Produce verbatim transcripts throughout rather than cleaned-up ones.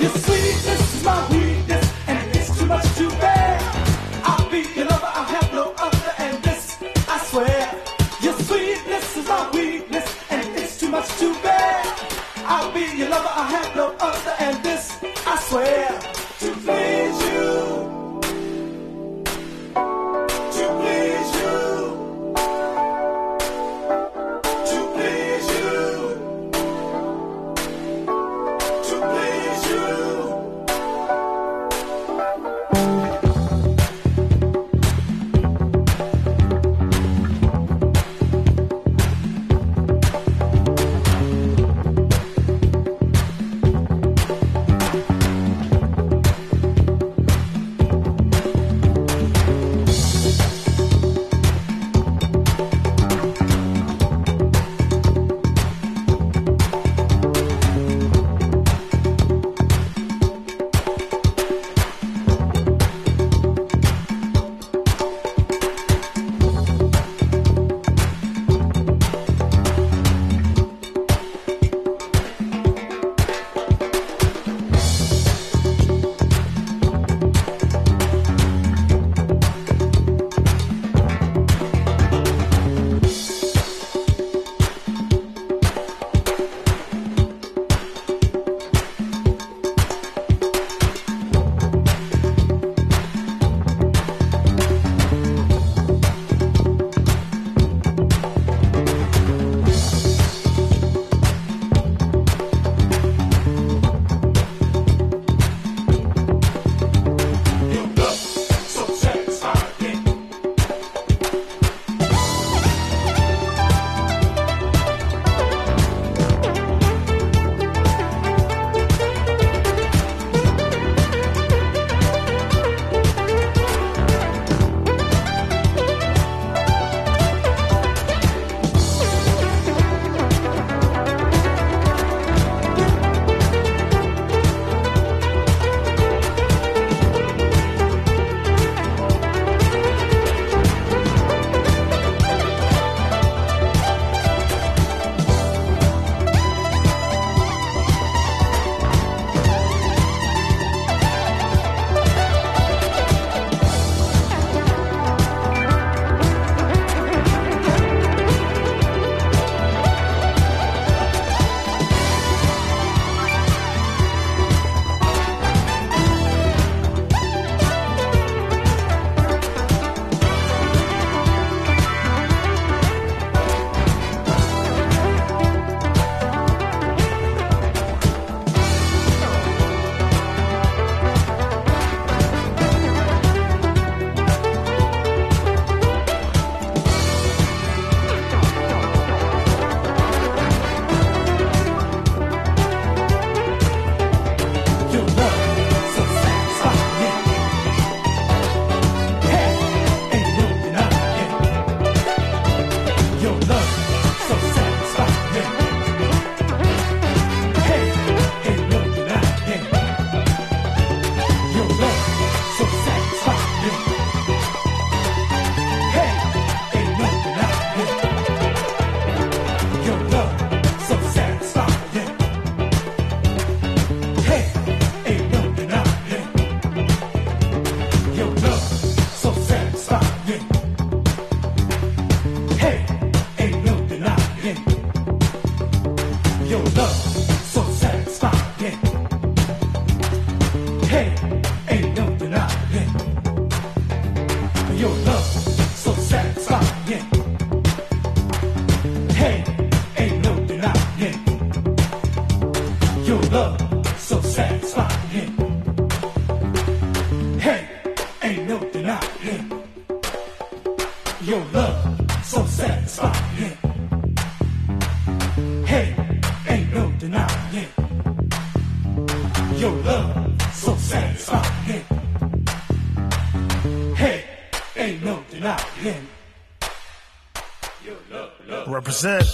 Represent.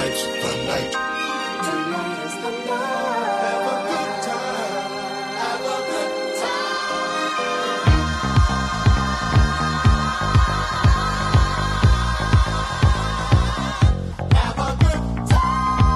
Tonight's the night. Tonight is the night. Have a good time. Have a good Have a good time.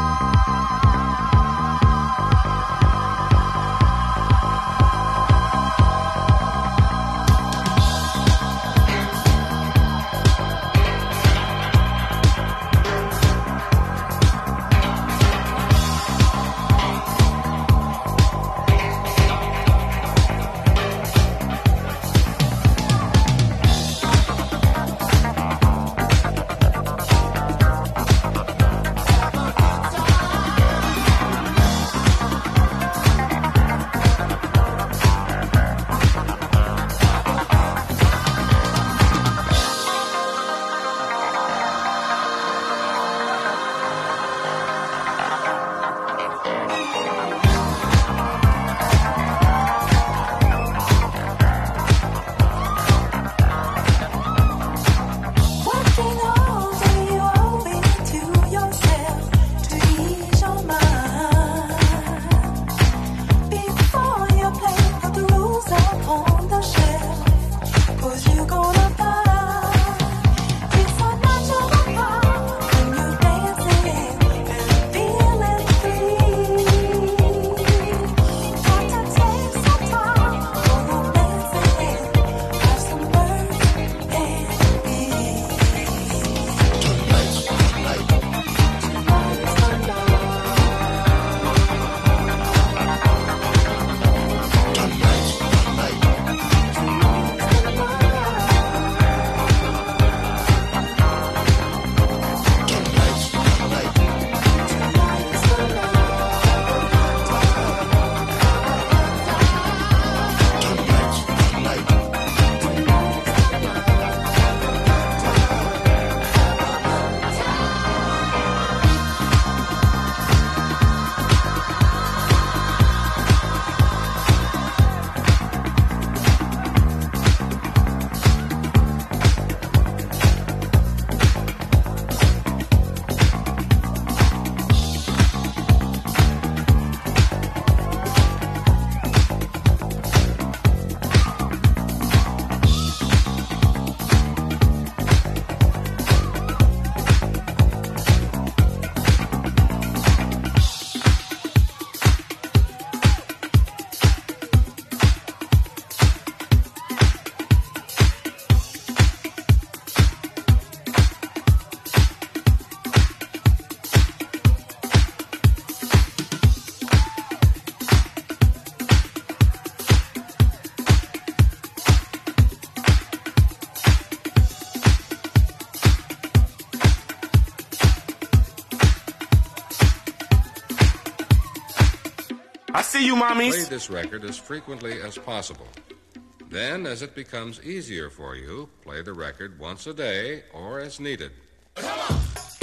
I see you, mommies. Play this record as frequently as possible. Then, as it becomes easier for you, play the record once a day or as needed. Come on.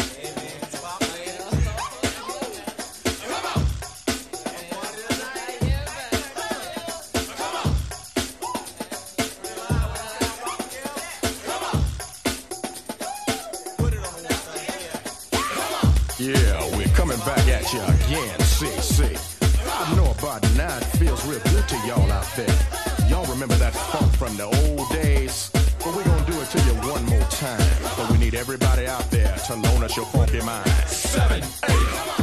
Yeah, we're coming back at you again, C C. I know about now it feels real good to y'all out there. Y'all remember that funk from the old days? But we're gonna do it to you one more time. But we need everybody out there to loan us your funky mind. Seven, eight.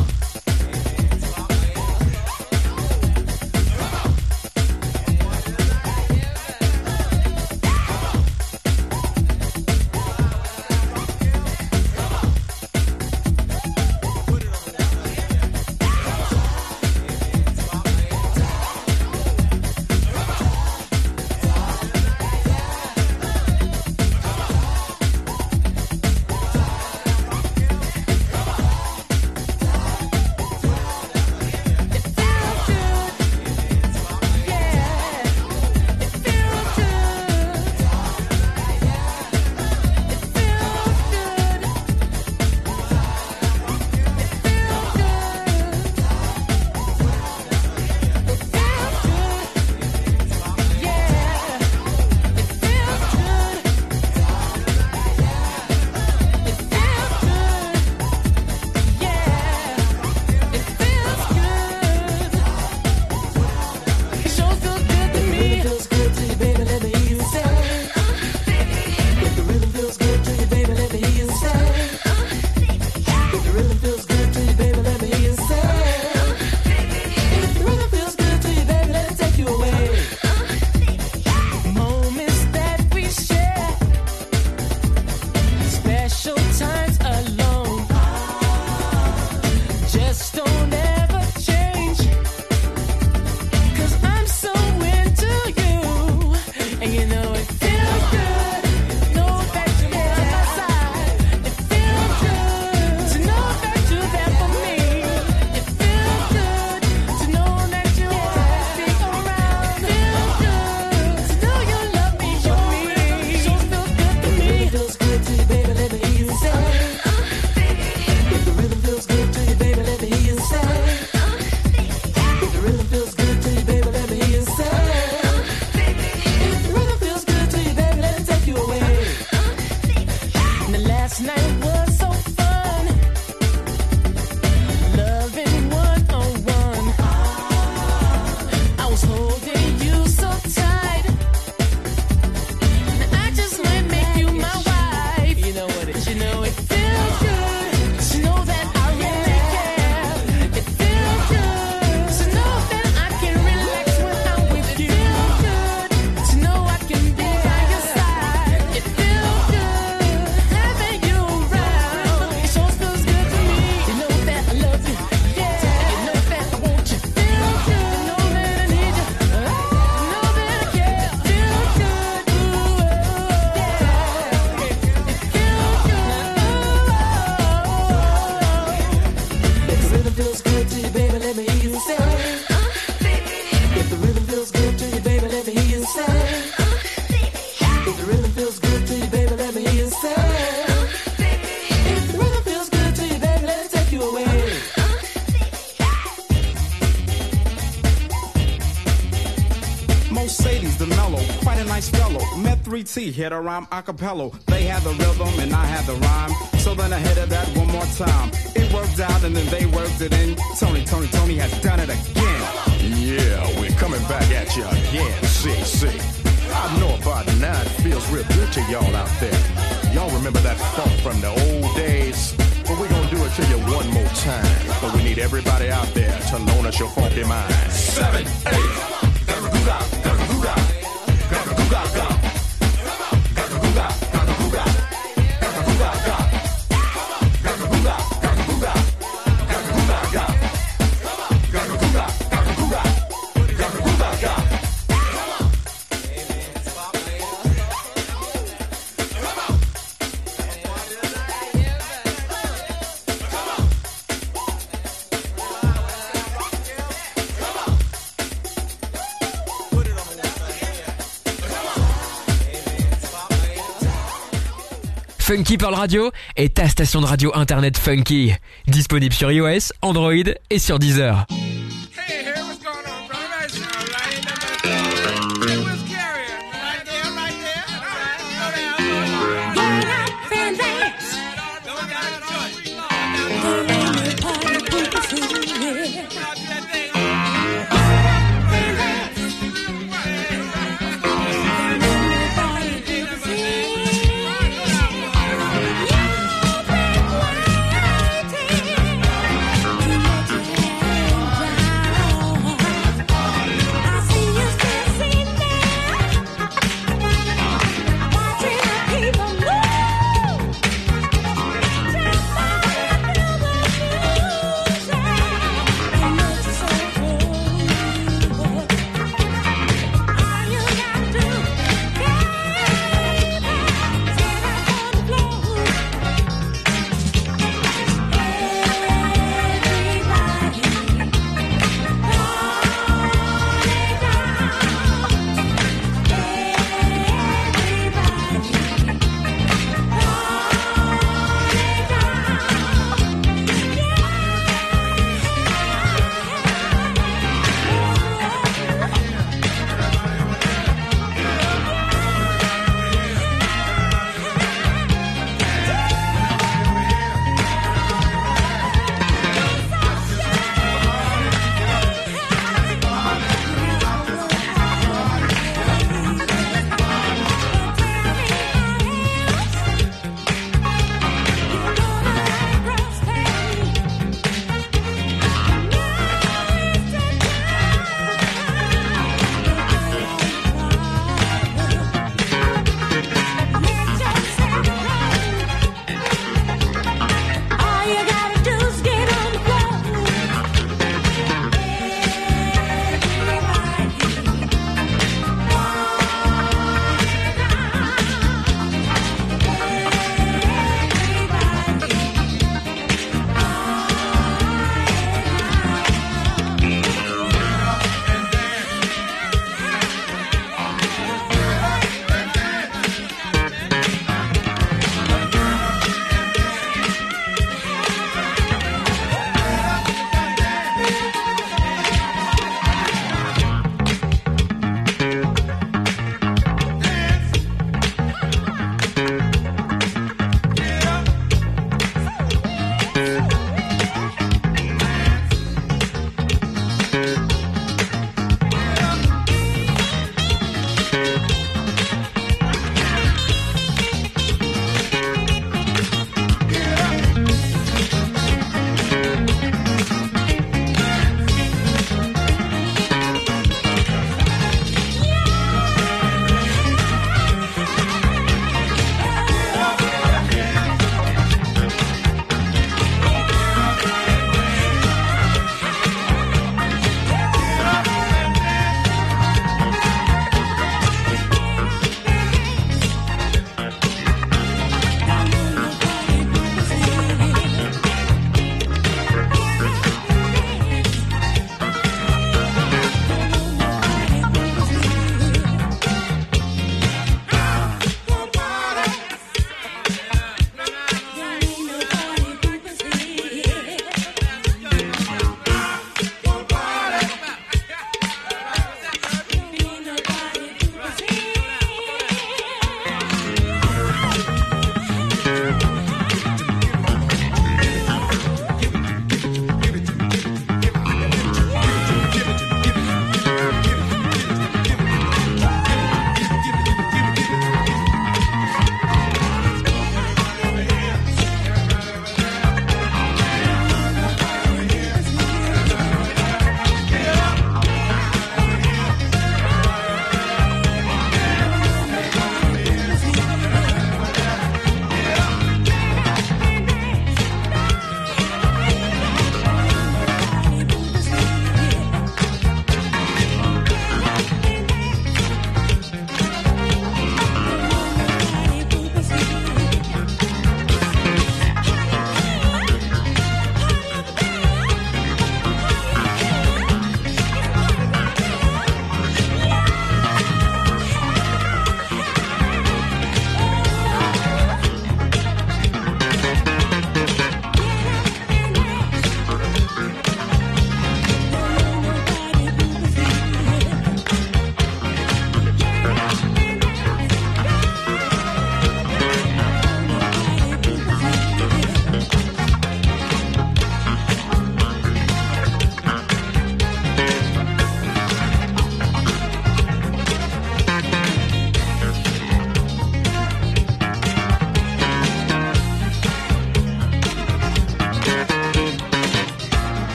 feels good to you, baby, let me hear you say. If the rhythm feels good to you, baby, let me hear you say. If the rhythm feels good to you, baby, let me hear you say. If the rhythm feels good to you, baby, let me take you away. Now last night was so fun, loving one on one. I was holding you so tight. Now I just might make you my wife. You know what? It, you know it feels good to know that I really care. It feels good to know that I can relax when I'm with you. It feels good to know I can be by your side. It feels good having you around. It sure feels good to me. You know that I love you, yeah. You know that I want you. Feels good to know that I need you. You know that I care. Feels good, ooh, yeah. It feels good. If the rhythm feels good to you, baby, let me hear you say. If the rhythm feels good to you, baby, let me hear you say. If the rhythm feels good to you, baby, let me hear you say. If the rhythm feels good to you, baby, let me take you away. Mercedes, the mellow, quite a nice fellow. Met three T, hit a rhyme a cappella. They had the rhythm and I had the rhyme. So then I hit it that one more time. It worked out and then they worked it in. Tony, Tony, Tony has done it again. Yeah, we're coming back at you again, C C. I know about it now, it feels real good to y'all out there. Y'all remember that funk from the old days? But we're gonna do it to you one more time. But we need everybody out there to loan us your funky mind. Seven, eight. Funky Pearl Radio est ta station de radio internet funky. Disponible sur iOS, Android et sur Deezer. Hey, here, what's going on, brother? That's all right. Hey, where's Carrie? Right there, right there. All right, go down. Get up and dance. No, we got a joint. Get in the party, put the food in. Out to that thing. Everybody,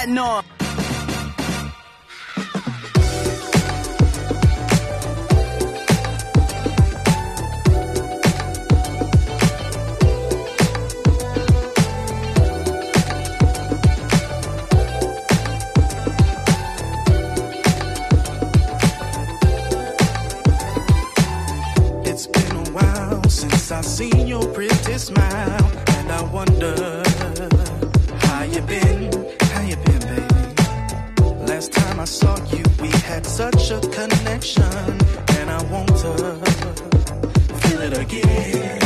frontin' on. It's been a while since I seen your pretty smile, and I wonder how you been, how you been, baby. Last time I saw you, we had such a connection, and I want to feel it again.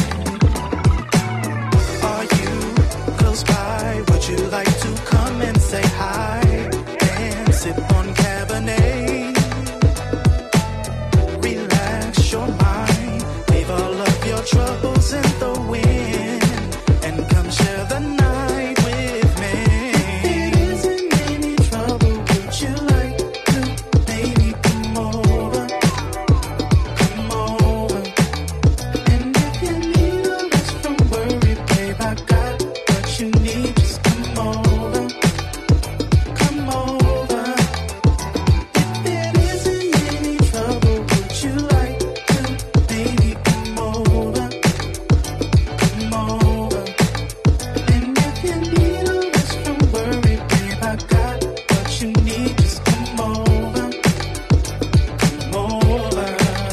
Are you close by? Would you like to come and say hi and sip on Cabernet? Relax your mind, leave all of your troubles in the wind, and come share the night with me. If there isn't any trouble, would you like to maybe come over, come over? And if you need a rest from worry, babe, I got what you need. Just come over, come over. If there isn't any trouble, would you like to maybe come over, come over? And if you need a rest from worry, babe, I got what you need. Just come over, come over.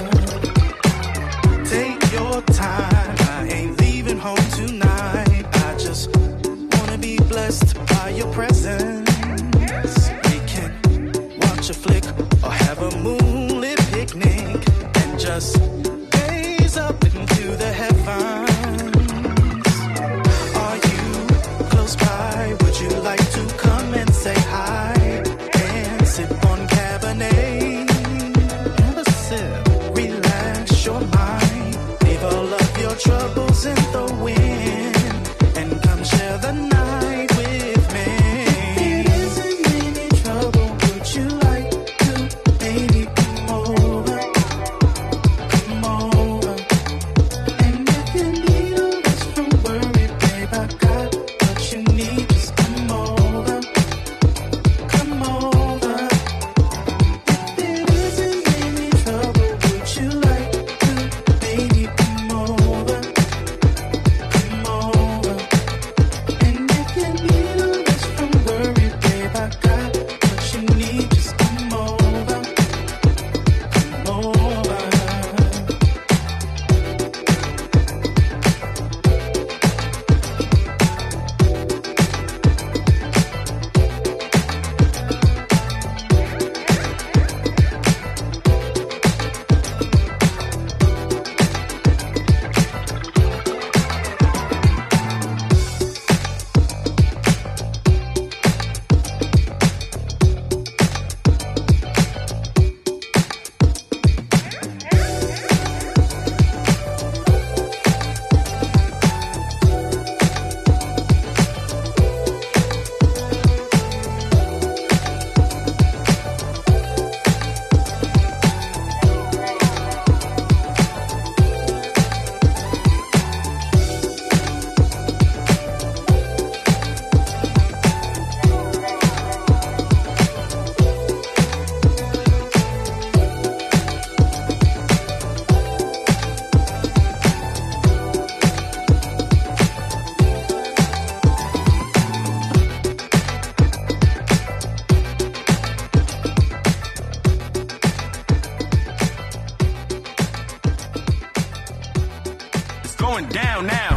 Take your time, I ain't leaving home tonight. I just wanna be blessed by your presence. We can watch a flick or have a moonlit picnic and just gaze up into the heavens. Are you close by? Would you like to come and say hi and sip on Cabernet? Have a sip, relax your mind, leave all of your troubles in the wind, and come share the night with me. If there isn't any trouble, would you like to maybe come over, come over? And if you need a rest from worry, babe, I got what you need. Just come over, come over. If there isn't any trouble, would you like to maybe come over, come over? And if you need a rest from worry, babe, I got what you need. Just come over, come over. It's going down now.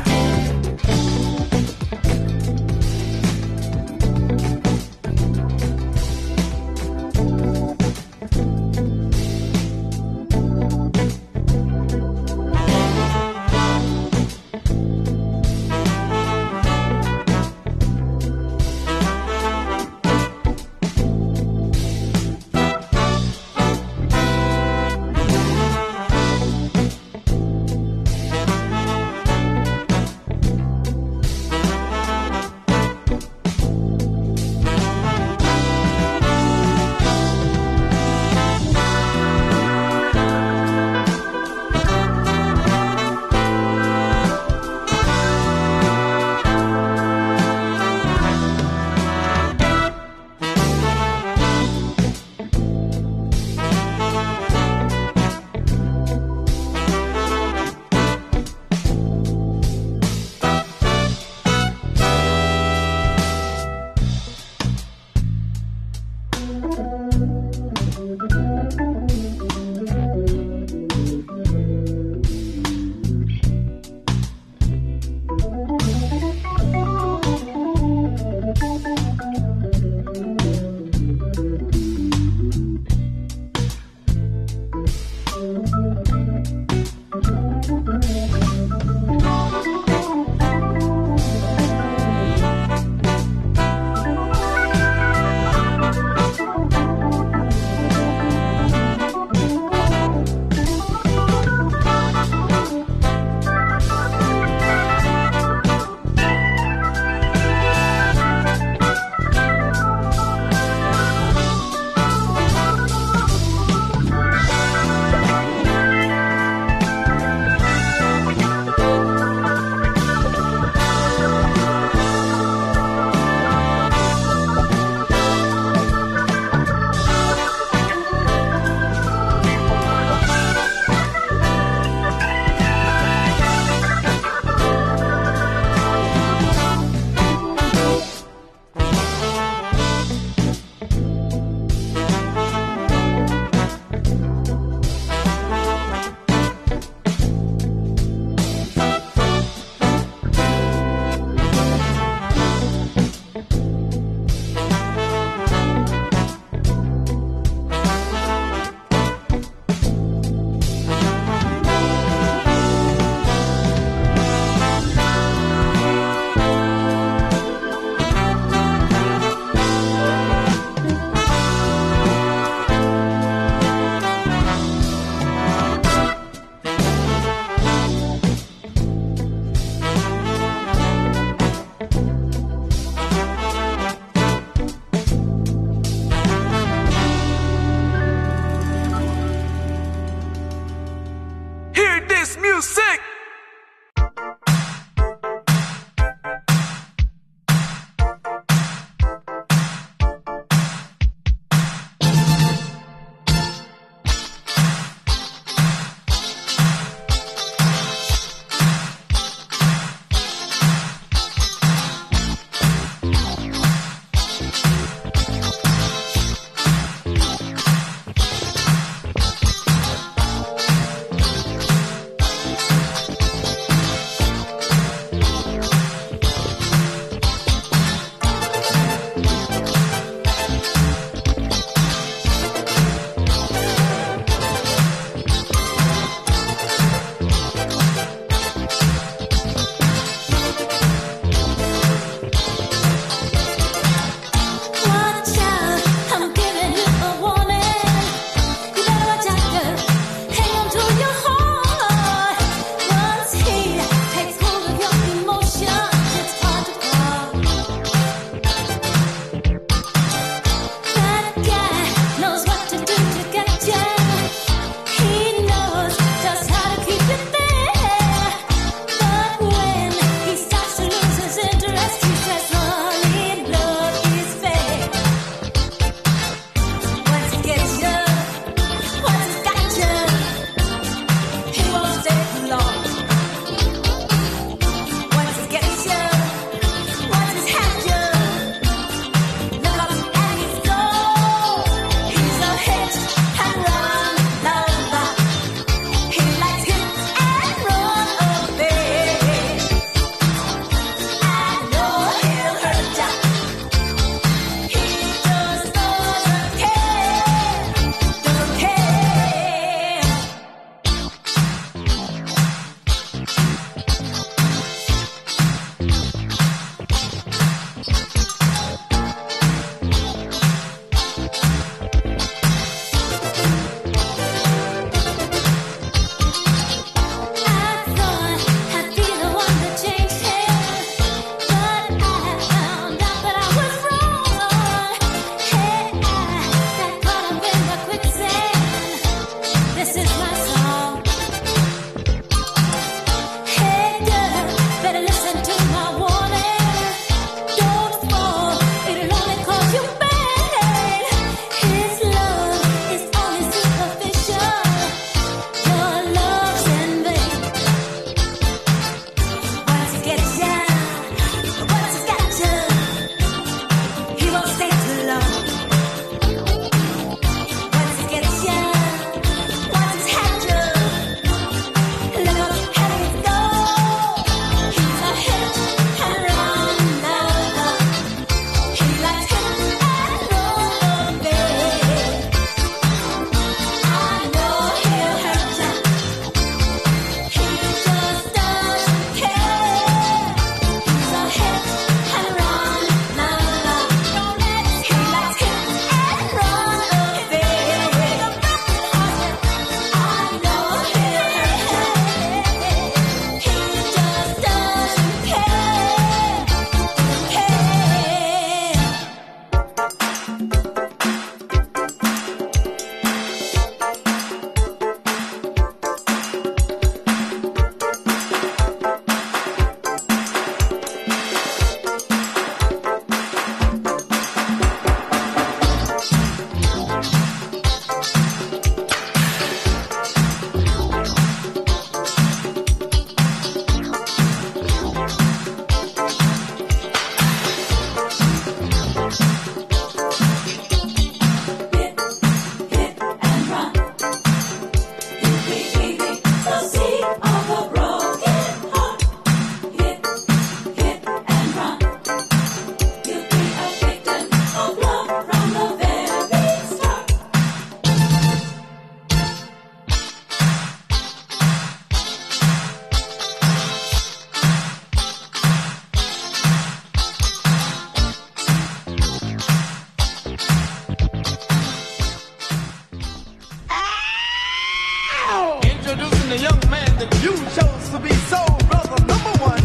seen a young man that you chose to be soul brother number one.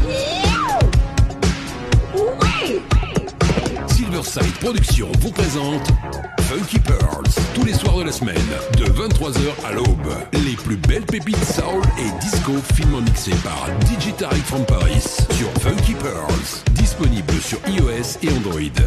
Oui. Silverside Productions vous présente Funky Pearls, tous les soirs de la semaine, de vingt-trois heures à l'aube. Les plus belles pépites soul et disco finement mixées par D J Tarek from Paris sur Funky Pearls, disponible sur iOS et Android.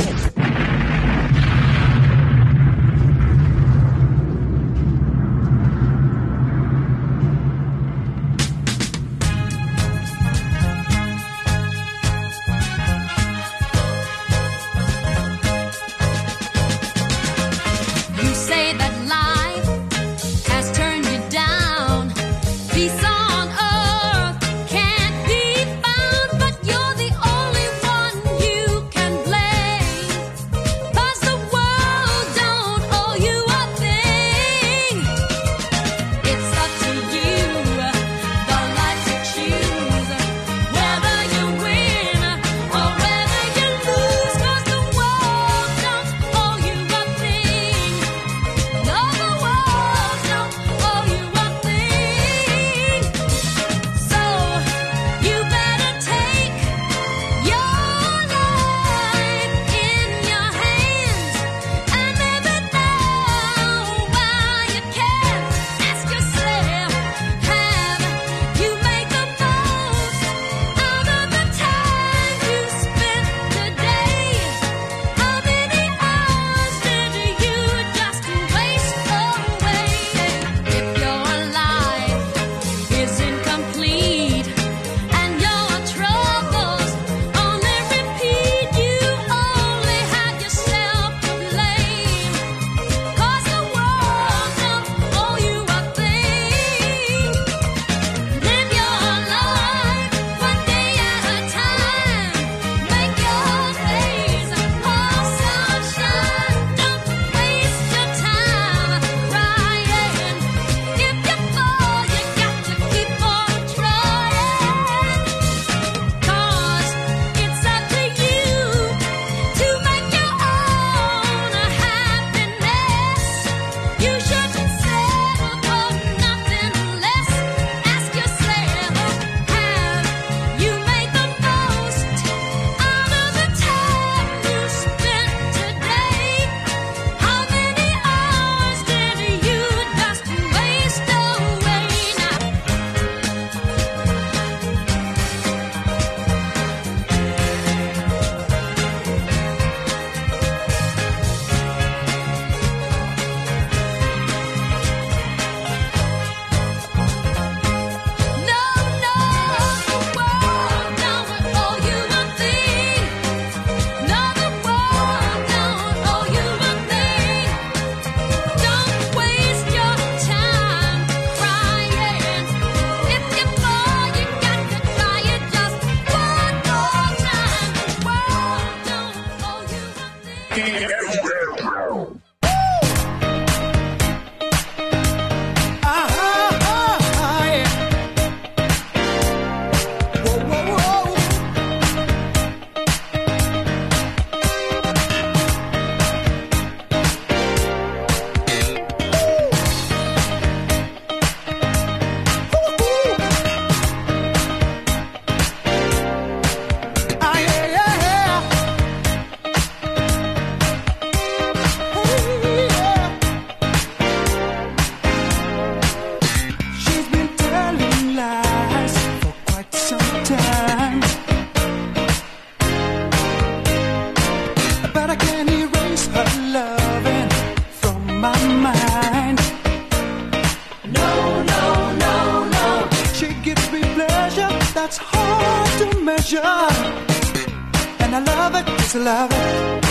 And I love it, yes I love it.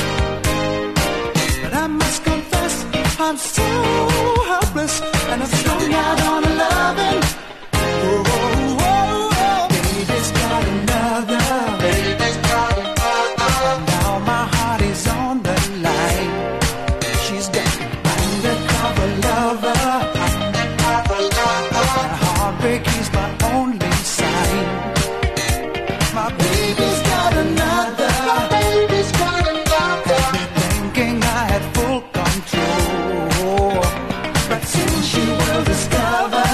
But I must confess, I'm so helpless, and I'm strung out on a loving. Oh, oh, oh, oh. Baby's got another. Baby's got another. Now my heart is on the line. She's got an undercover lover. Undercover lover. And heartbreak is my only sign. My baby's got another. My baby's got another. Thinking I had full control, but soon she will discover.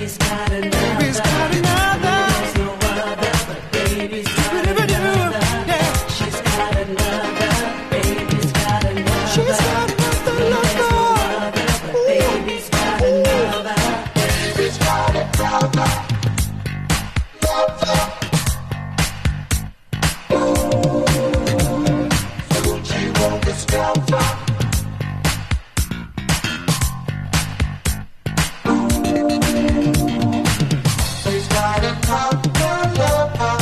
Baby's got another. Baby's got another. There's no other, but baby's got another. Yeah. She's got another. Baby's got another. She's got another lover. There's no other, but baby's got another. Baby's got another. Lover. Discover. He's got a popular lover.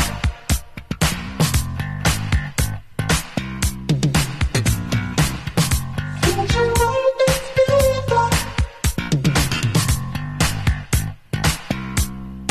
Don't you know this fever?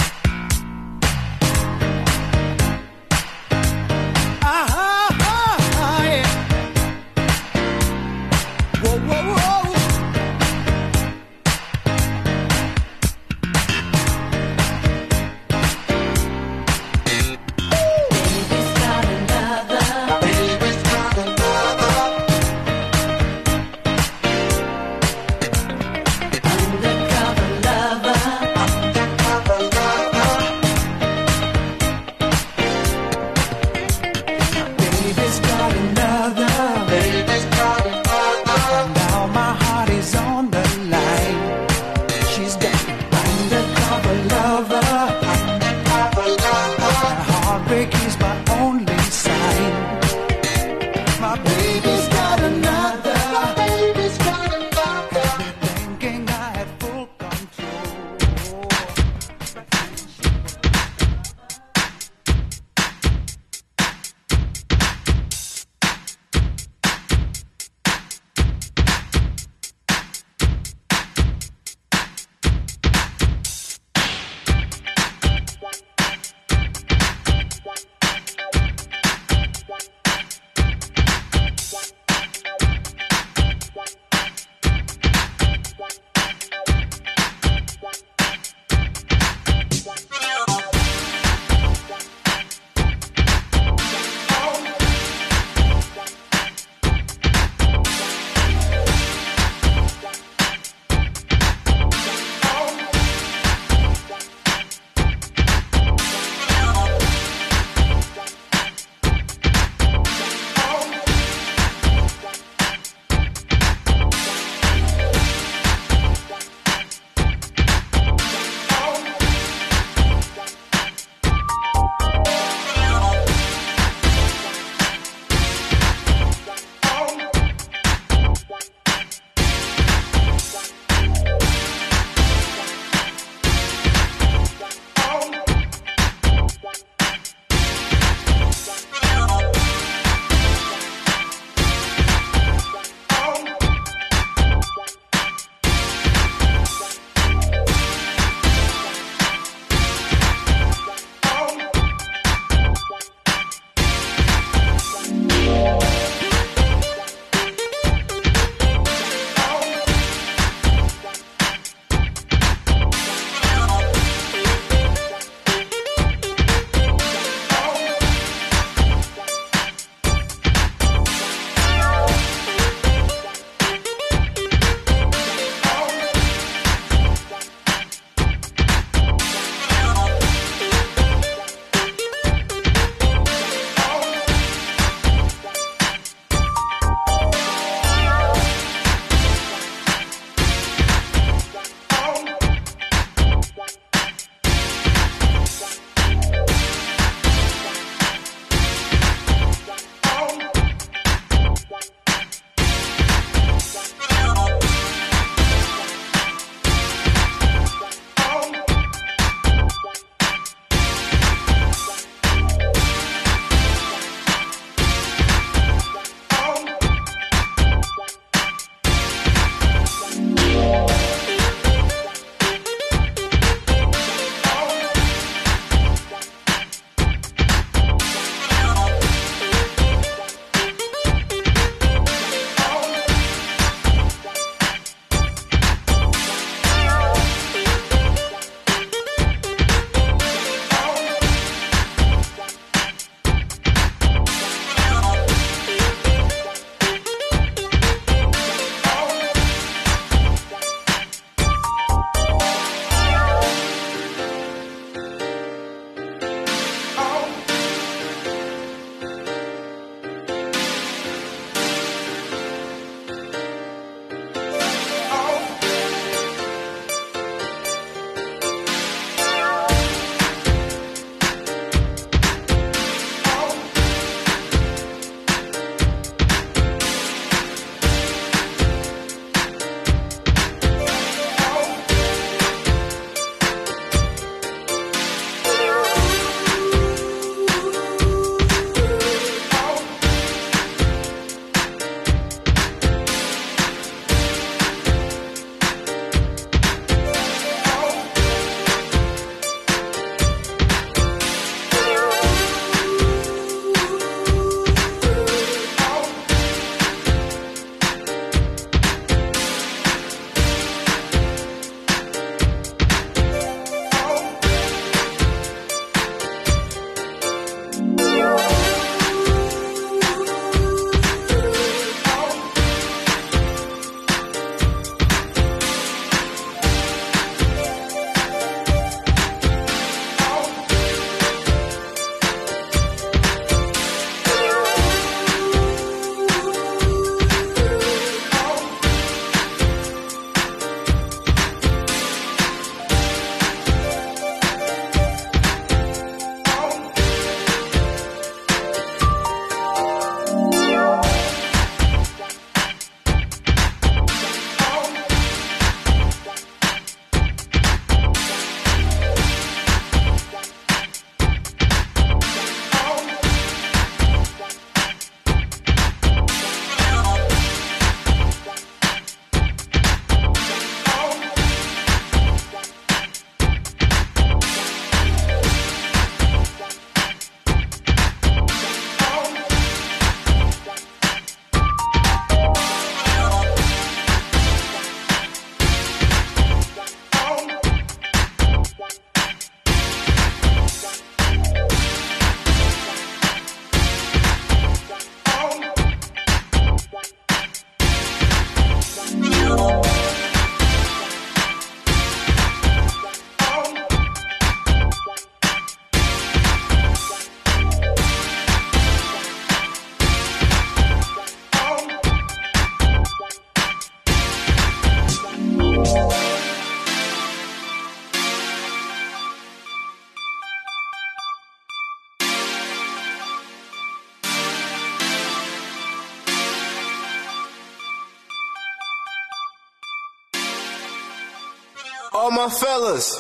all my fellas.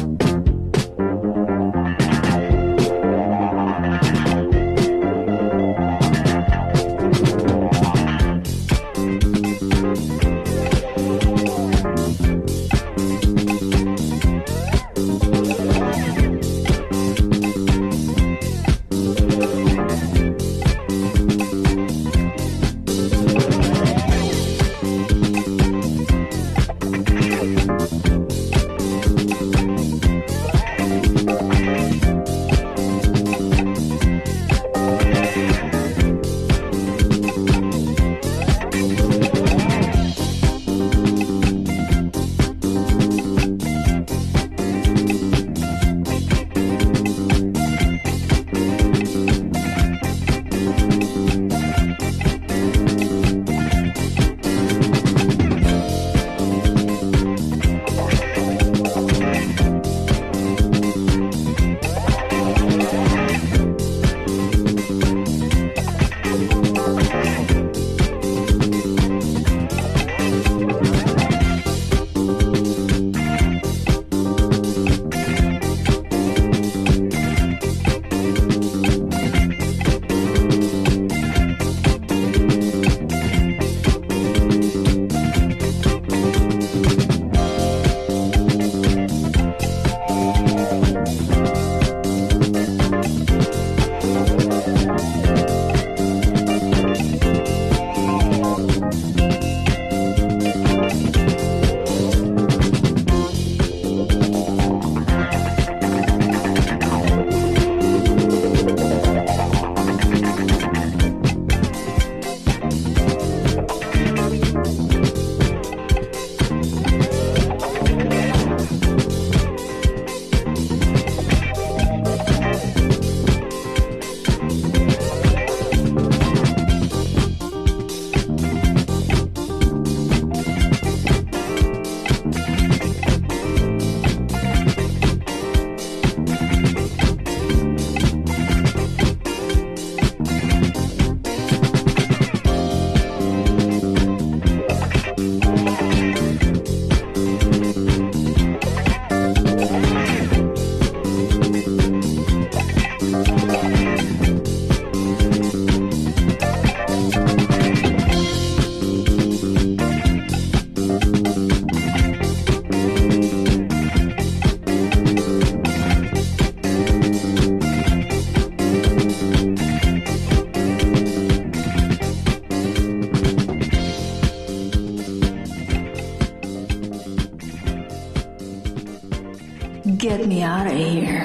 Get me out of here.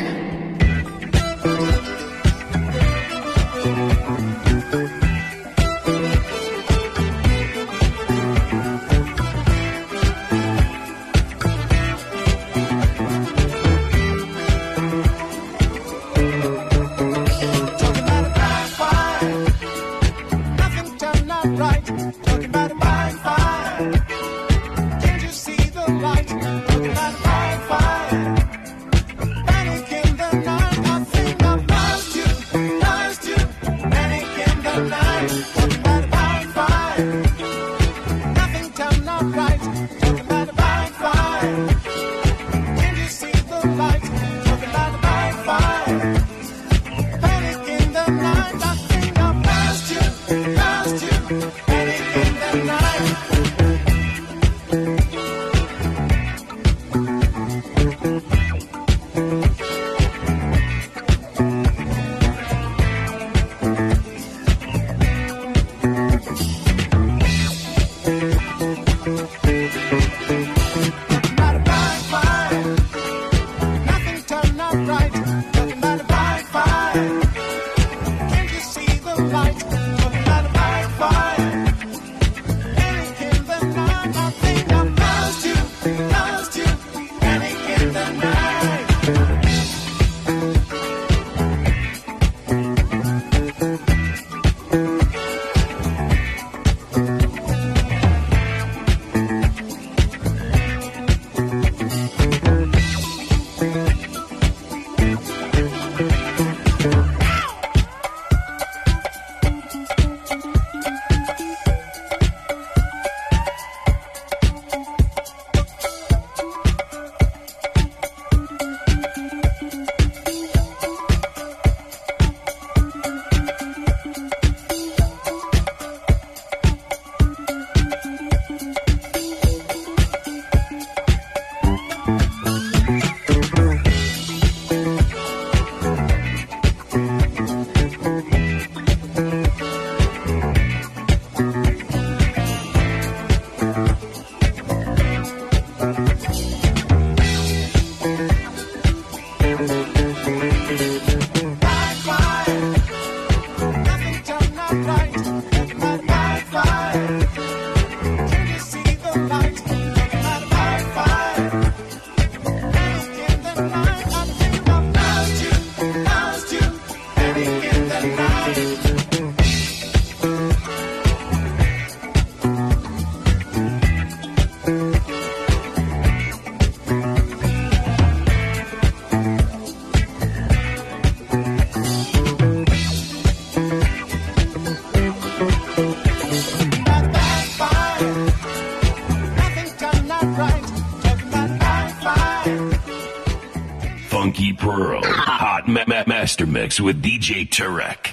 Funky Pearl, Hot ma- ma- Master Mix with D J Turek.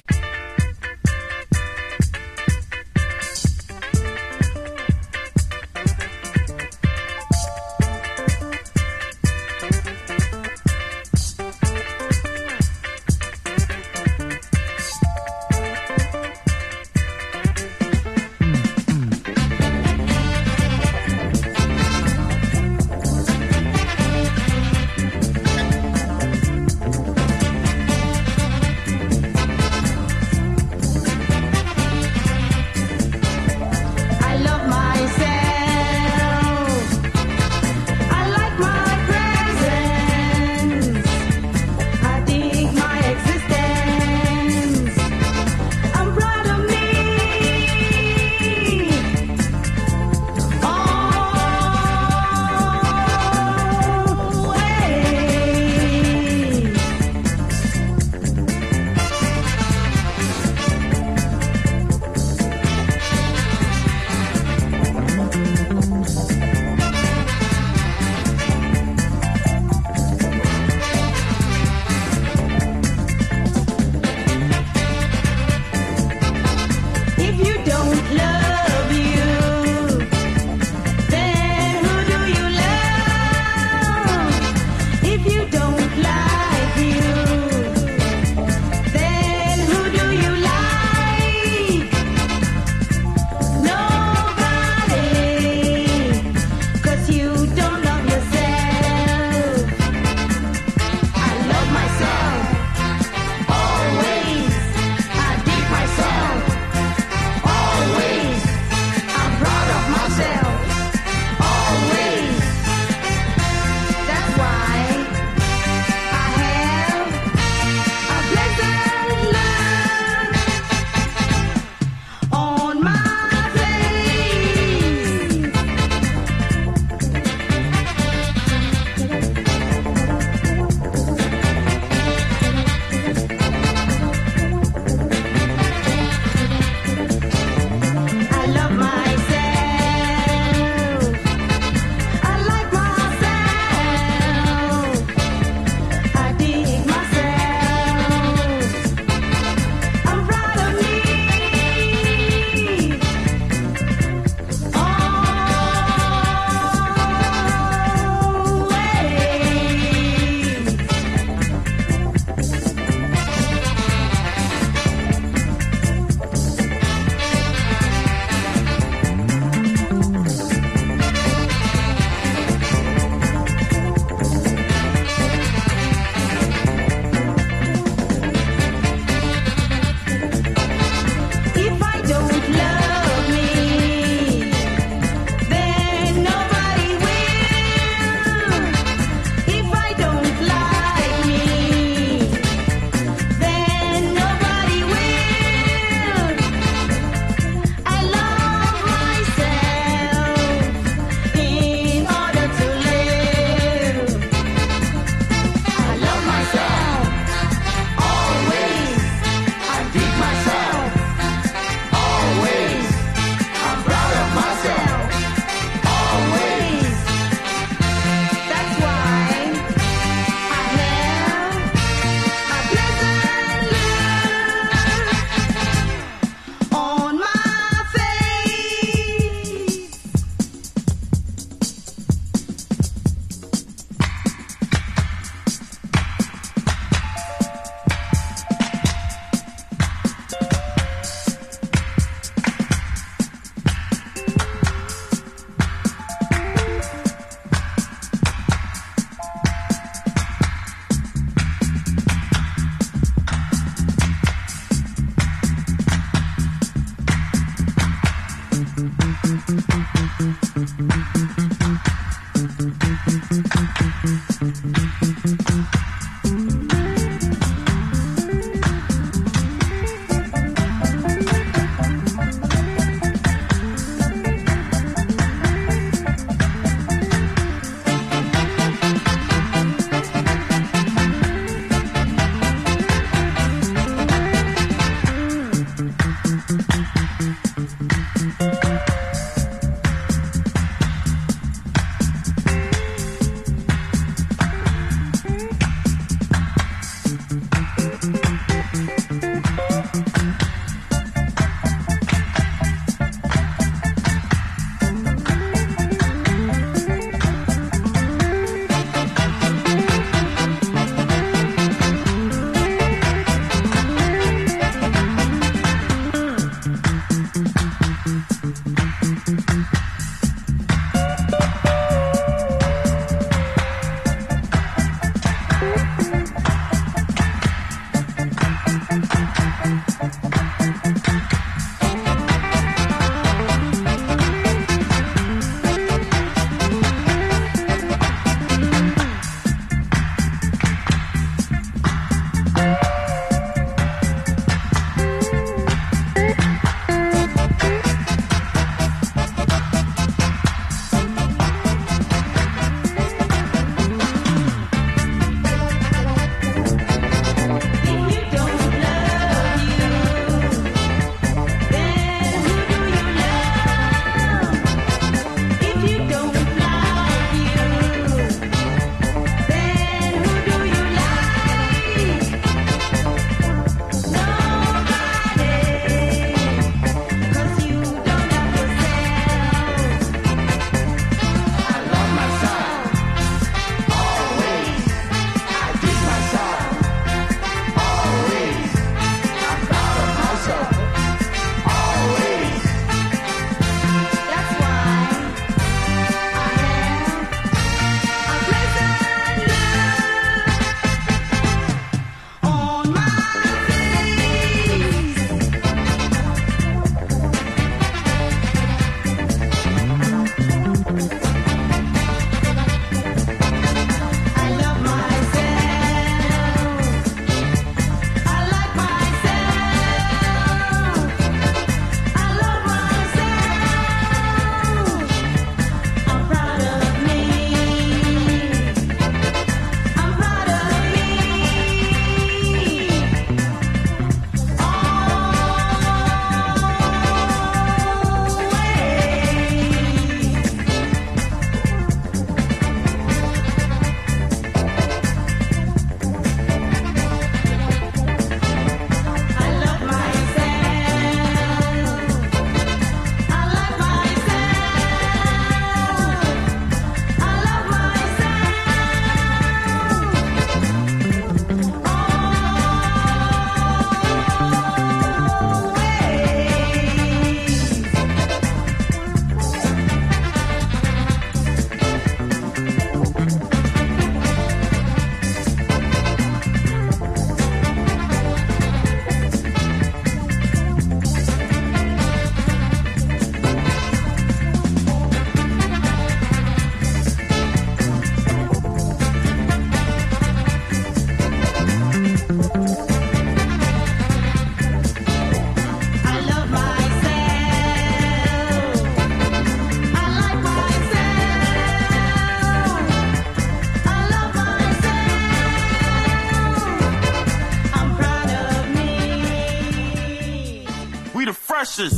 precious.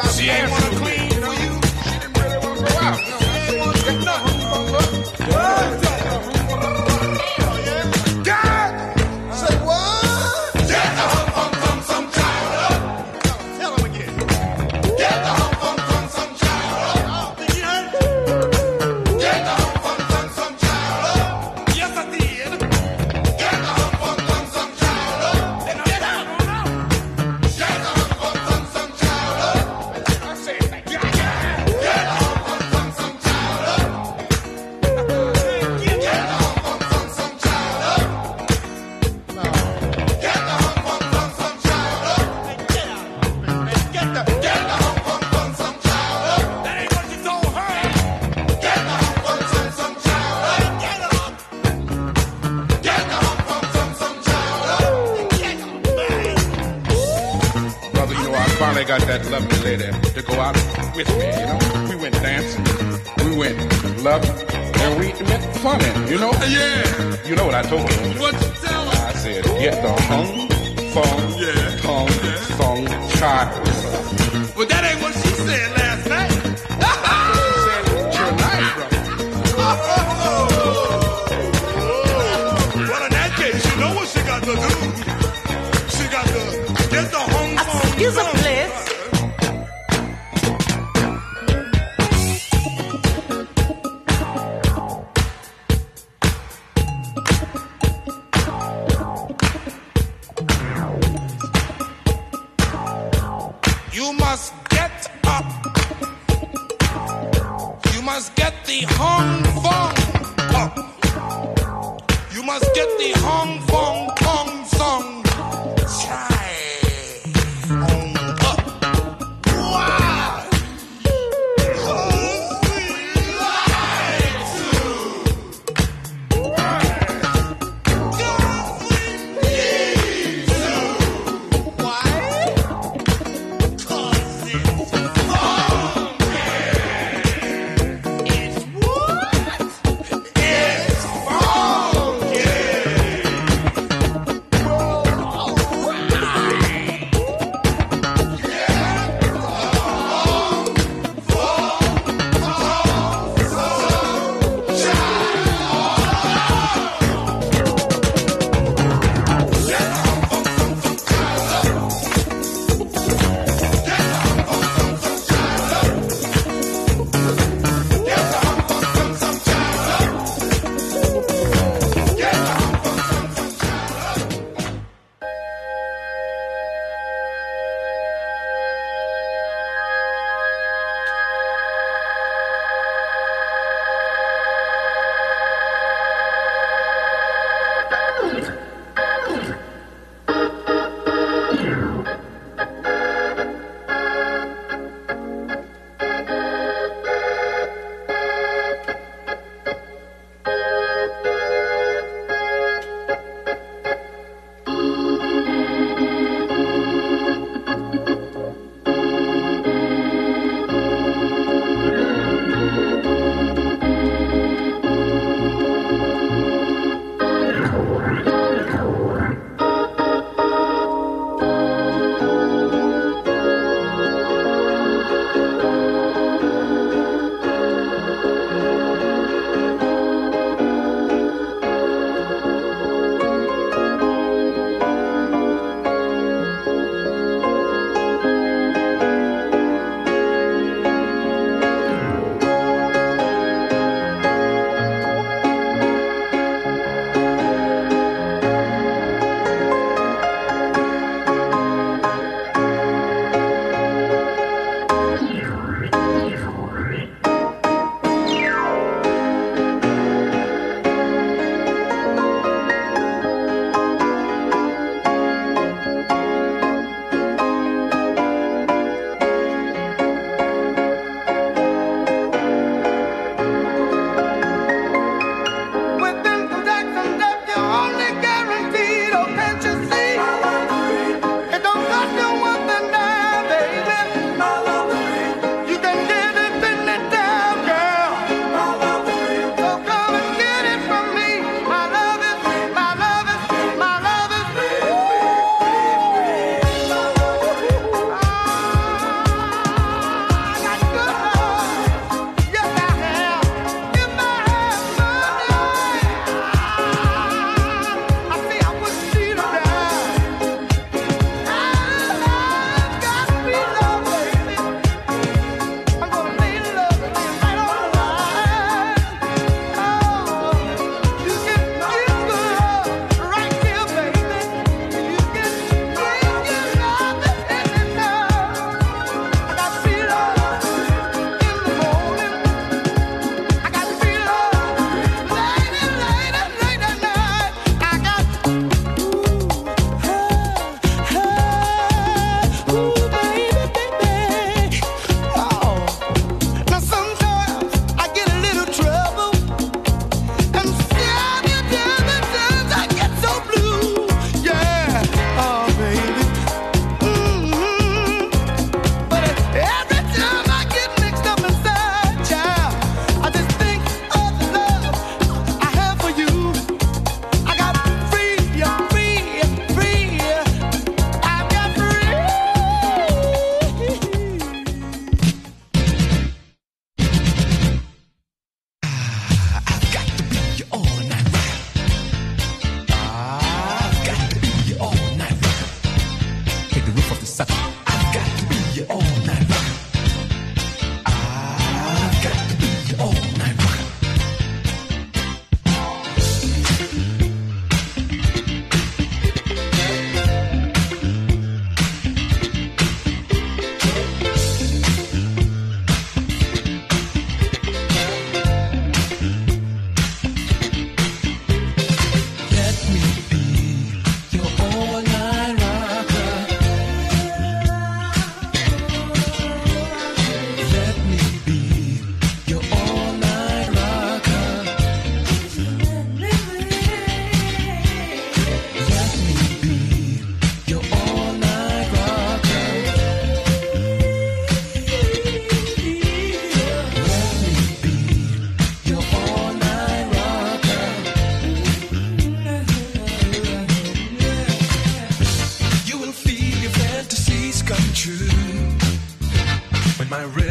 She ain't wanna clean for you. She didn't really wanna go out. No, she ain't wanna get nothing. God! Say what? Get the hump, hump, hump, some child up. Tell him again. Get the hump, hump, hump, some child up. Did you hear? Get the hump, hump, hump, some child up. Yes, I did. Get the hump, hump, hump, some child up. Then get out. Get the hump, hump, hump, some child up. I said, get the hump, hump, hump, some child up. Get the hump, hump, hump, some child up. No. Get the hump, hump, hump, some child up. Get out. Get the get the hump, hump, hump, some child up. That ain't what you told her. Get the hump, hump, hump, some child up. Get up. Get the hump, hump, hump, some child up. Get up. Brother, you know, I finally got that lovely lady to go out with me, you know. We went dancing, we went loving, and we met funny, you know. Yeah. You know what I told her? What you tell her? I said, get the hung, fung, Yeah. tongue, song, child. Well, that ain't what she said last night. Tonight, brother. Well, in that case, you know what she got to do. She got to get the home phone. Excuse me, please. You must get up. You must get the hung fong up. You must get the hung fong tong song. Chai on up. Wow.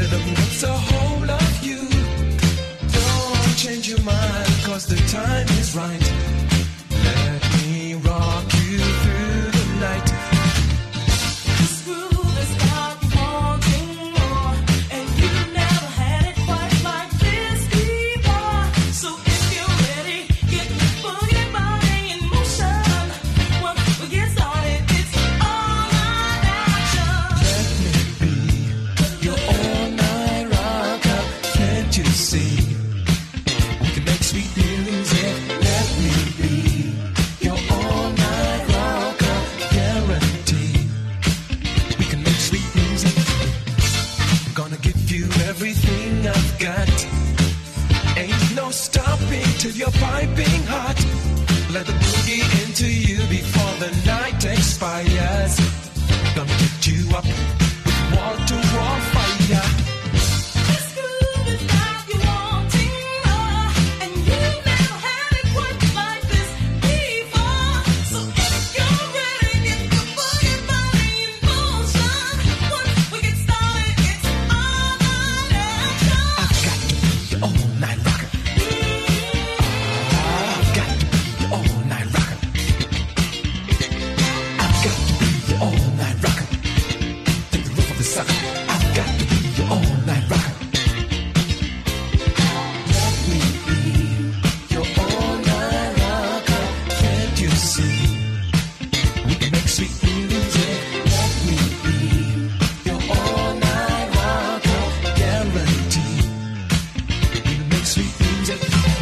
rhythm gets a hold of you. Don't change your mind, cause the time is right. Let me rock you through the night. This groove has got you wanting more, and you've never had it quite like this before. So if you're ready, get the boogie body in motion. Once we get started, it's all night action. Let me be your all-night rocker. Can't you see? We can make sweet music. Let me be your all-night rocker. Guarantee we can make sweet music. Gonna give you everything I've got. Ain't no stopping till you're piping hot. Let the boogie into you before the night expires. Gonna get you up with wall-to-wall fire. This groove has got you wanting more, and you've never had it quite like this before. So if you're ready, get the boogie body in motion. Once we get started, it's all night action. I've got to be your all-night rocker. I've got to be your all-night rocker. I've got to be your all-night rocker. Take the roof of the sucker. I've got to be your all-night rocker. Let me be your all-night rocker. Can't you see? We can make sweet music. Let me be your all-night rocker. Guarantee we can make sweet music.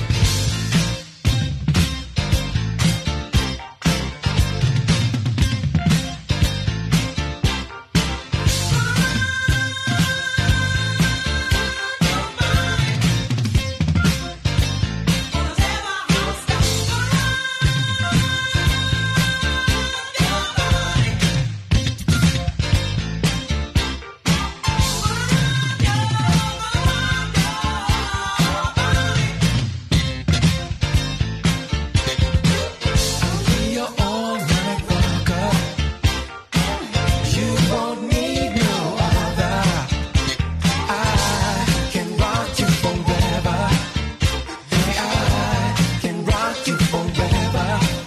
Be your all-night rocker. You won't need no other. I can rock you forever. Hey, I can rock you forever.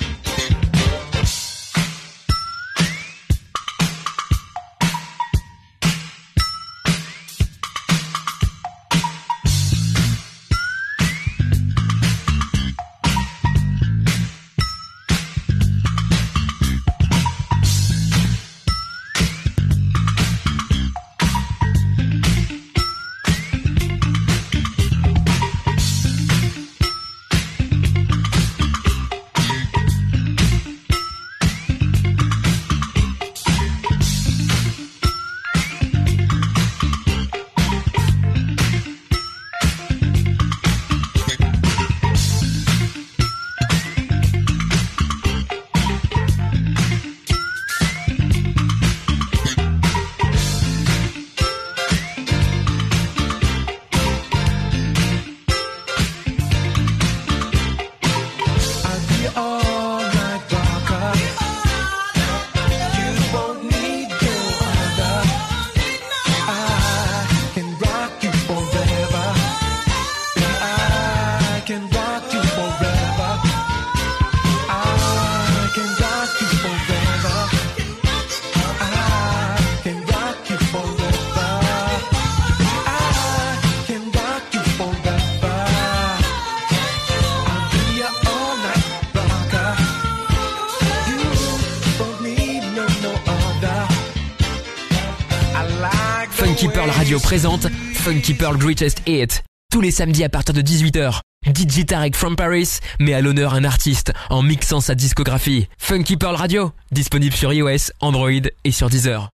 I'll be your all-night rocker. You won't need no other. I can rock you forever. I can rock you forever. I can rock you forever. I can rock you forever. I can rock you forever. I'll be your all-night rocker. You don't need no, no other. I like the Funky Pearl way Radio you présente Funky Pearl Greatest Hits. Tous les samedis à partir de dix-huit heures. D J Tarek from Paris met à l'honneur un artiste en mixant sa discographie. Funky Pearl Radio, disponible sur iOS, Android et sur Deezer.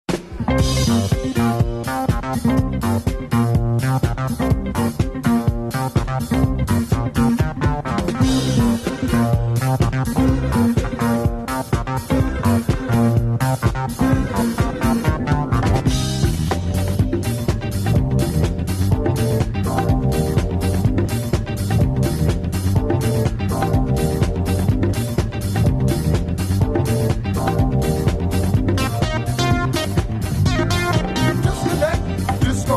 This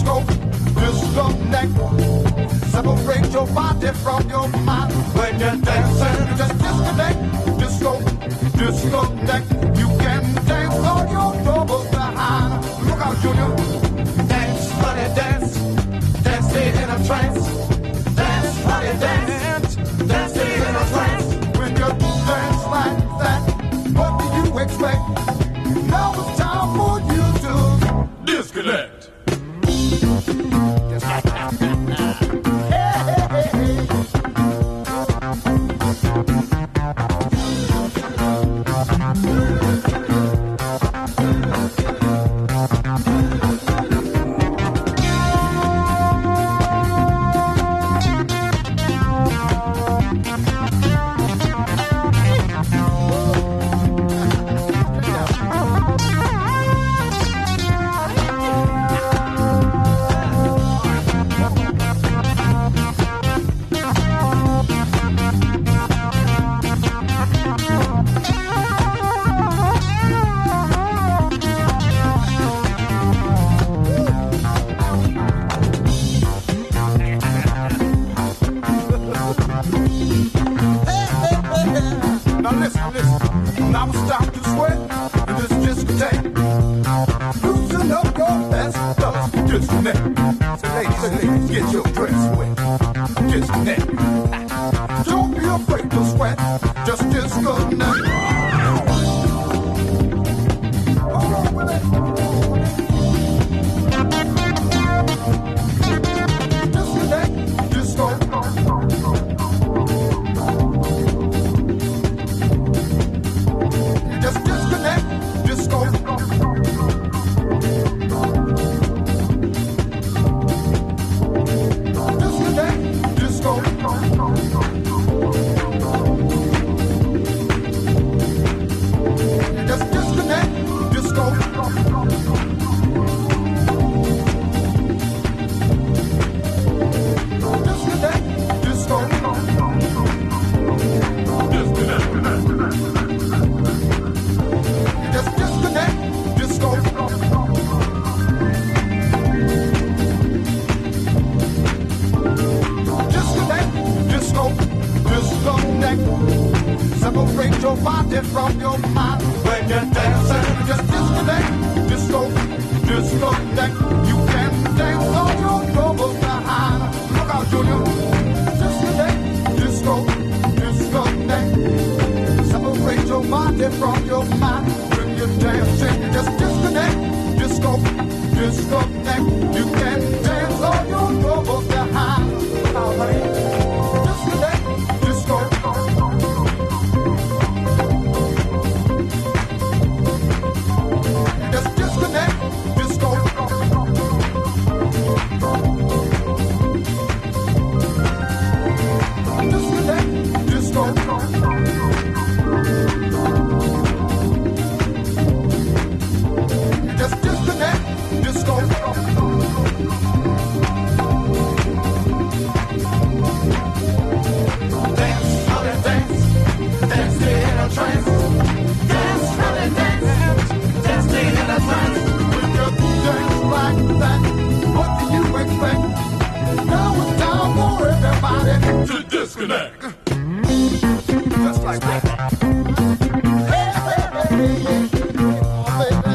disco, disconnect. Separate your body from your mind. When you're dancing, just disconnect. Disco, disconnect. You can dance all your troubles behind. Look out, Junior. Dance, honey, dance. Dance in a trance. Dance, honey, dance. Dance in a trance. When you dance like that, what do you expect? Now it's time for you to disconnect. Separate your body from your mind. When you're dancing, just disconnect. Disco, disconnect. You can dance all your troubles behind. Look out, Junior. Disconnect. Disco, disconnect. Separate your body from your mind. When you're dancing, just disconnect. Disco, disconnect. You can dance all your troubles behind. All right. Disconnect. Disco. Just disconnect, disco. Disconnect, disco. Just disconnect, disco. Dance, honey, dance. Dance in a trance. Dance, honey, dance. Dance in a trance. When you dance like that, what do you expect? Now it's time for everybody to disconnect. Just like that. Hey, hey, hey, hey, oh, baby.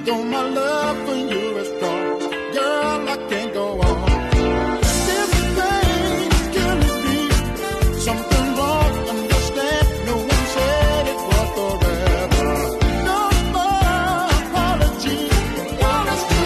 Though my love for you is strong, girl, I can't go on. This pain is killing me. Something wrong, understand. No one said it was forever. No more apology. All is too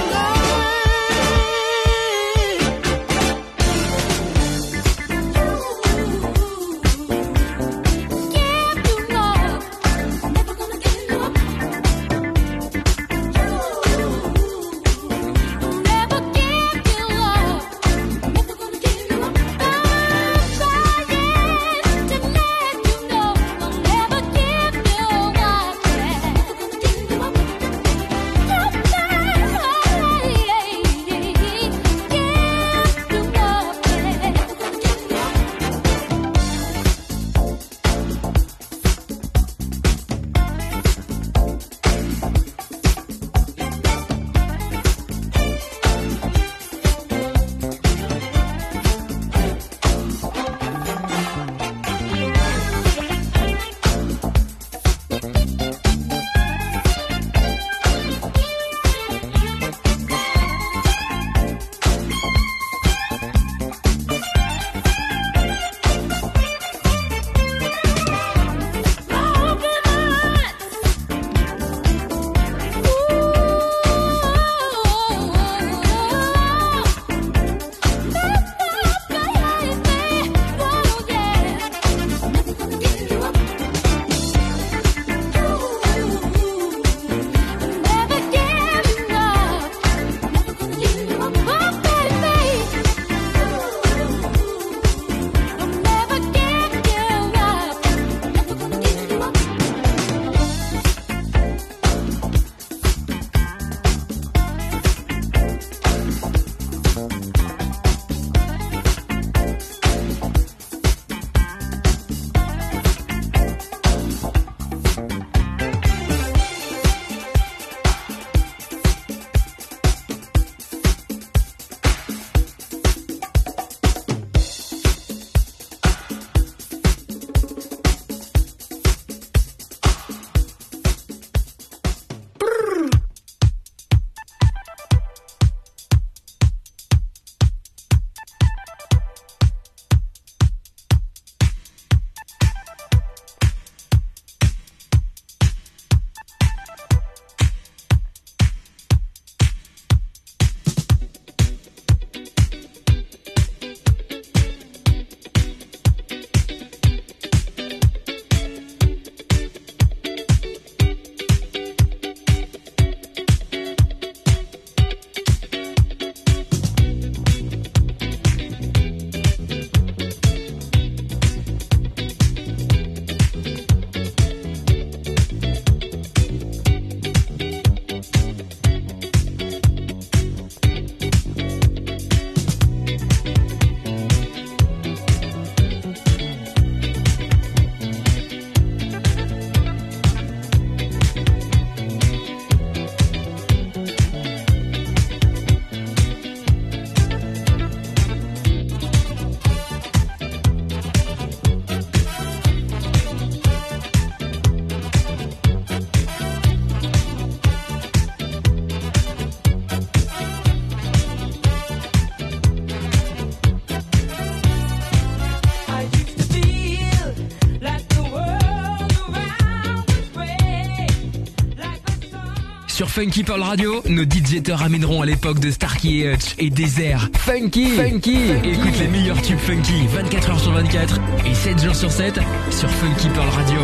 Sur Funky Pearl Radio, nos D J te ramèneront à l'époque de Starkey et Hutch et Désert. Funky, funky, écoute les meilleurs tubes funky vingt-quatre heures sur vingt-quatre et sept jours sur sept sur Funky Pearl Radio.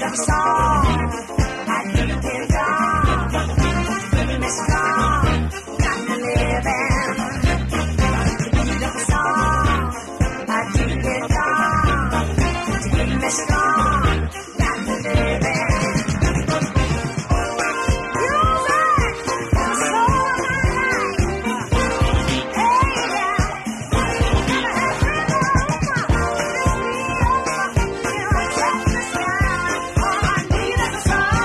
Song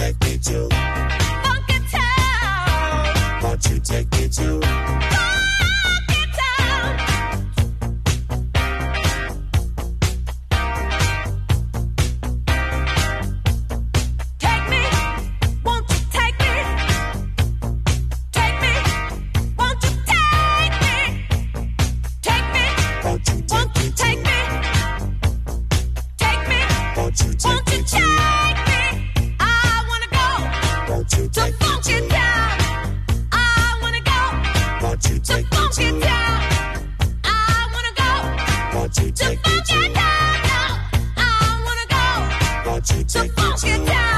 take me to Funky Town? Won't you take me to Funky Town? Take me, won't you take me? Take me, won't you take me? Take me, Won't you won't take you me take me? Take me, Won't you won't take you me to take me? I wanna go Won't you to take me Funky to Town. I wanna go Won't you to take me Funky to Town. I wanna go Won't you to take me Funky to Town. No, I wanna go Won't you to take me Funky to Town.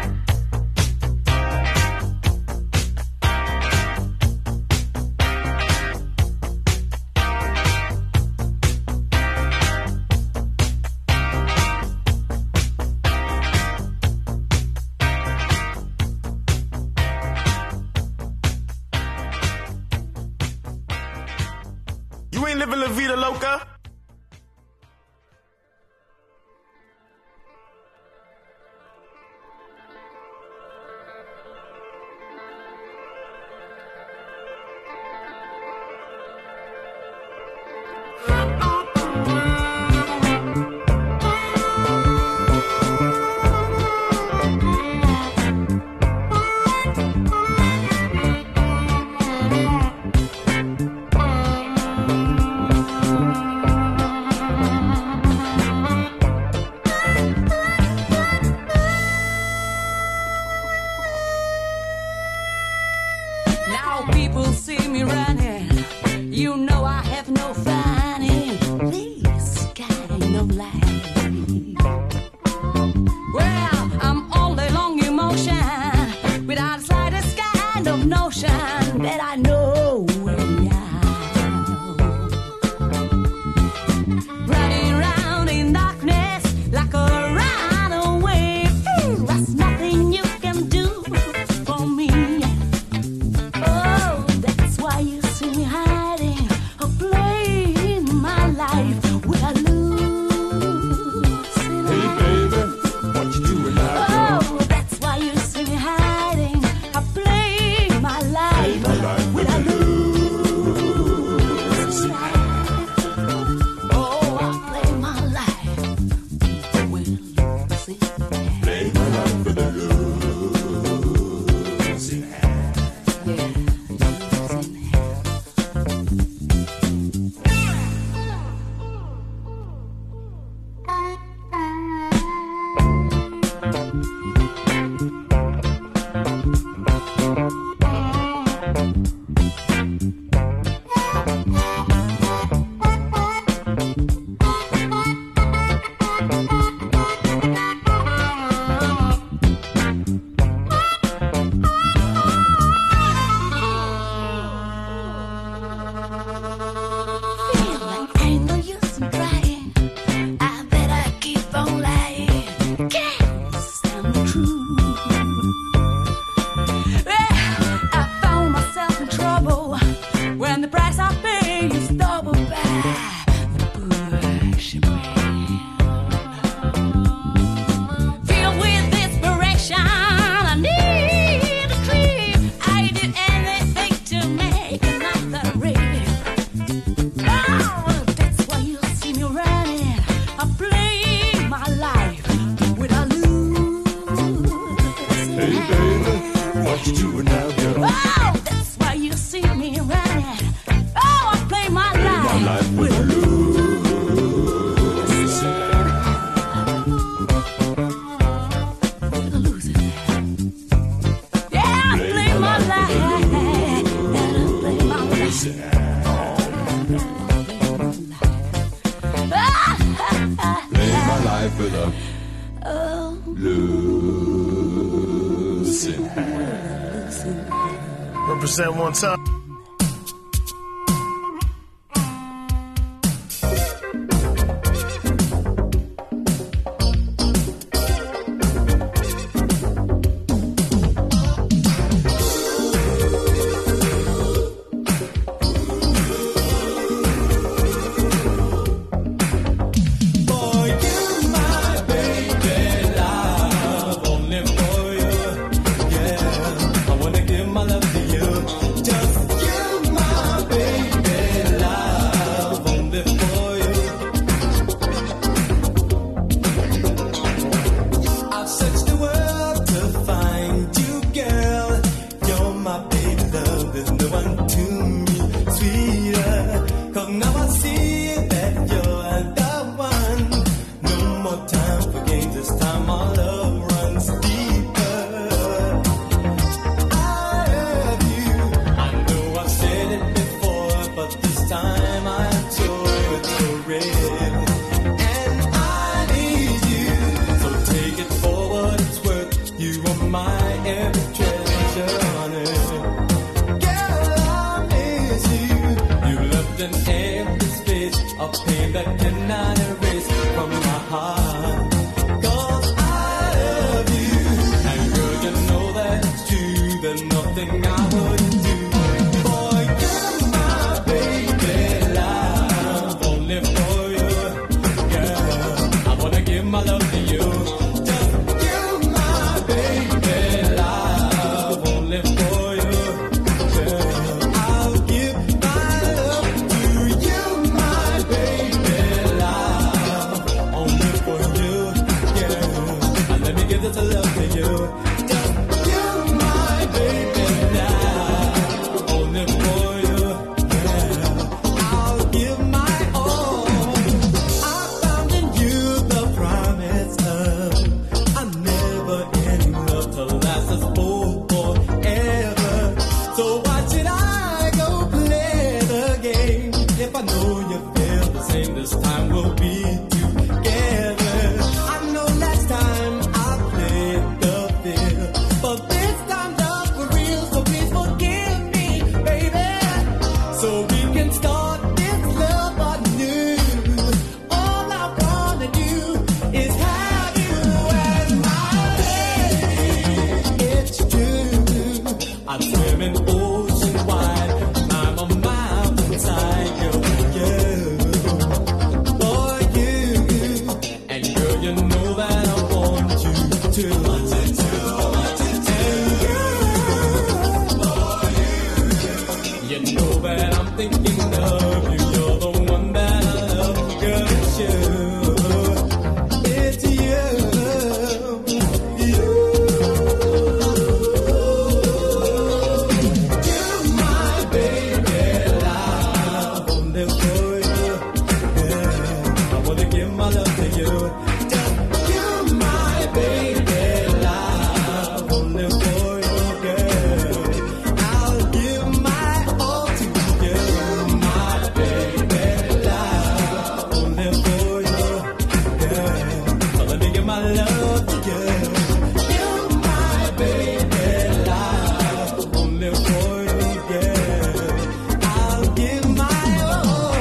You ain't living La Vida Loca. Now people see me running. You know I have no fun in this kind of life. Well, I'm all along emotion without the slightest kind of notion that I know where I'm running around in darkness like a runaway. Ooh, that's nothing you can do for me. Oh, that's why you see me hiding or playing my life with a losing Hey, baby, what you doing now, girl? Oh, that's why you see me hiding or playing my life My life with a losing Oh, I play my life with a losing Play my life with a losing Yeah, losing Feel like ain't no use in trying. I better keep on lying. Can't stand the truth. Well, I found myself in trouble when the price I pay is double by the bushman. Filled with desperation, I need a dream. I do anything to make another real. Oh, that's why you see me running. I play my life with a losing Hey, baby, what you doing now, girl? Oh, that's why you see me running. Oh, I play my life, My life with a with a losing. Yeah, I play my life. And I play my life. Play my life with a Oh, losing Represent one time. For you, my baby, love only for you. my every treasure, honey. Girl, I miss you. You left an empty space, a pain that cannot erase from my heart. 'Cause I love you, and girl, you know that's true. There's nothing I wouldn't do. Boy, you're my baby, love, only for you. Girl, I wanna give my love to you. Just you, my baby, love, only for you. Girl, I'll give my love to you, my baby, love, only for you. Girl, and let me give this love to you. Just you, my baby, love, only for you. Girl, I'll give my all. I found in you the promise of a never-ending love to last us both forever. So why should I go play the game if I know you feel the same? This time we'll be together. I know last time I played the field, but this time love for real. So please forgive me, baby, so we can start this love anew. All I wanna do is have you as my baby. It's true, I'm swimming ocean wide. I'm a mile inside you, for you. And girl, you know that I want you to. And you know that I'm thinking of you. You're the one that I love, girl. It's you. It's you. You. You're my baby, love, only for you. Yeah, I wanna give my love to you. Just you, my baby, love, only for you, girl. I'll give my all to you, my baby, love, only for you, girl. So let me give my love to you. You're my baby, love, only for you, girl. I'll give my all.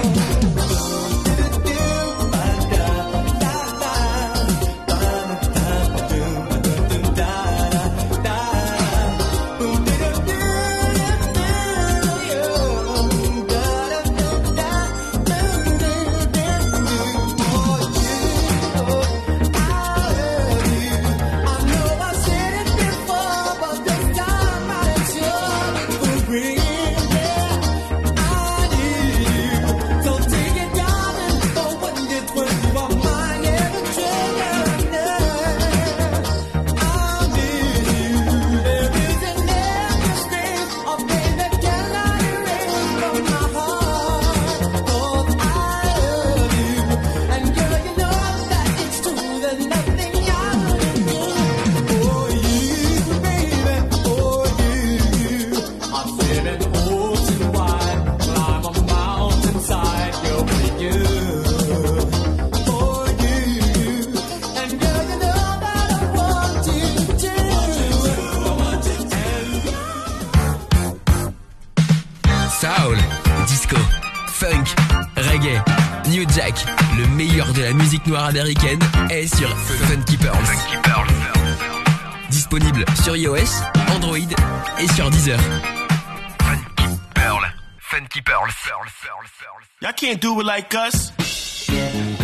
Soul, disco, funk, reggae, new jack, le meilleur de la musique noire américaine est sur Funky Pearls. Disponible sur iOS, Android et sur Deezer. Funky Pearl, Funky Pearls. Y'all can't do it like us.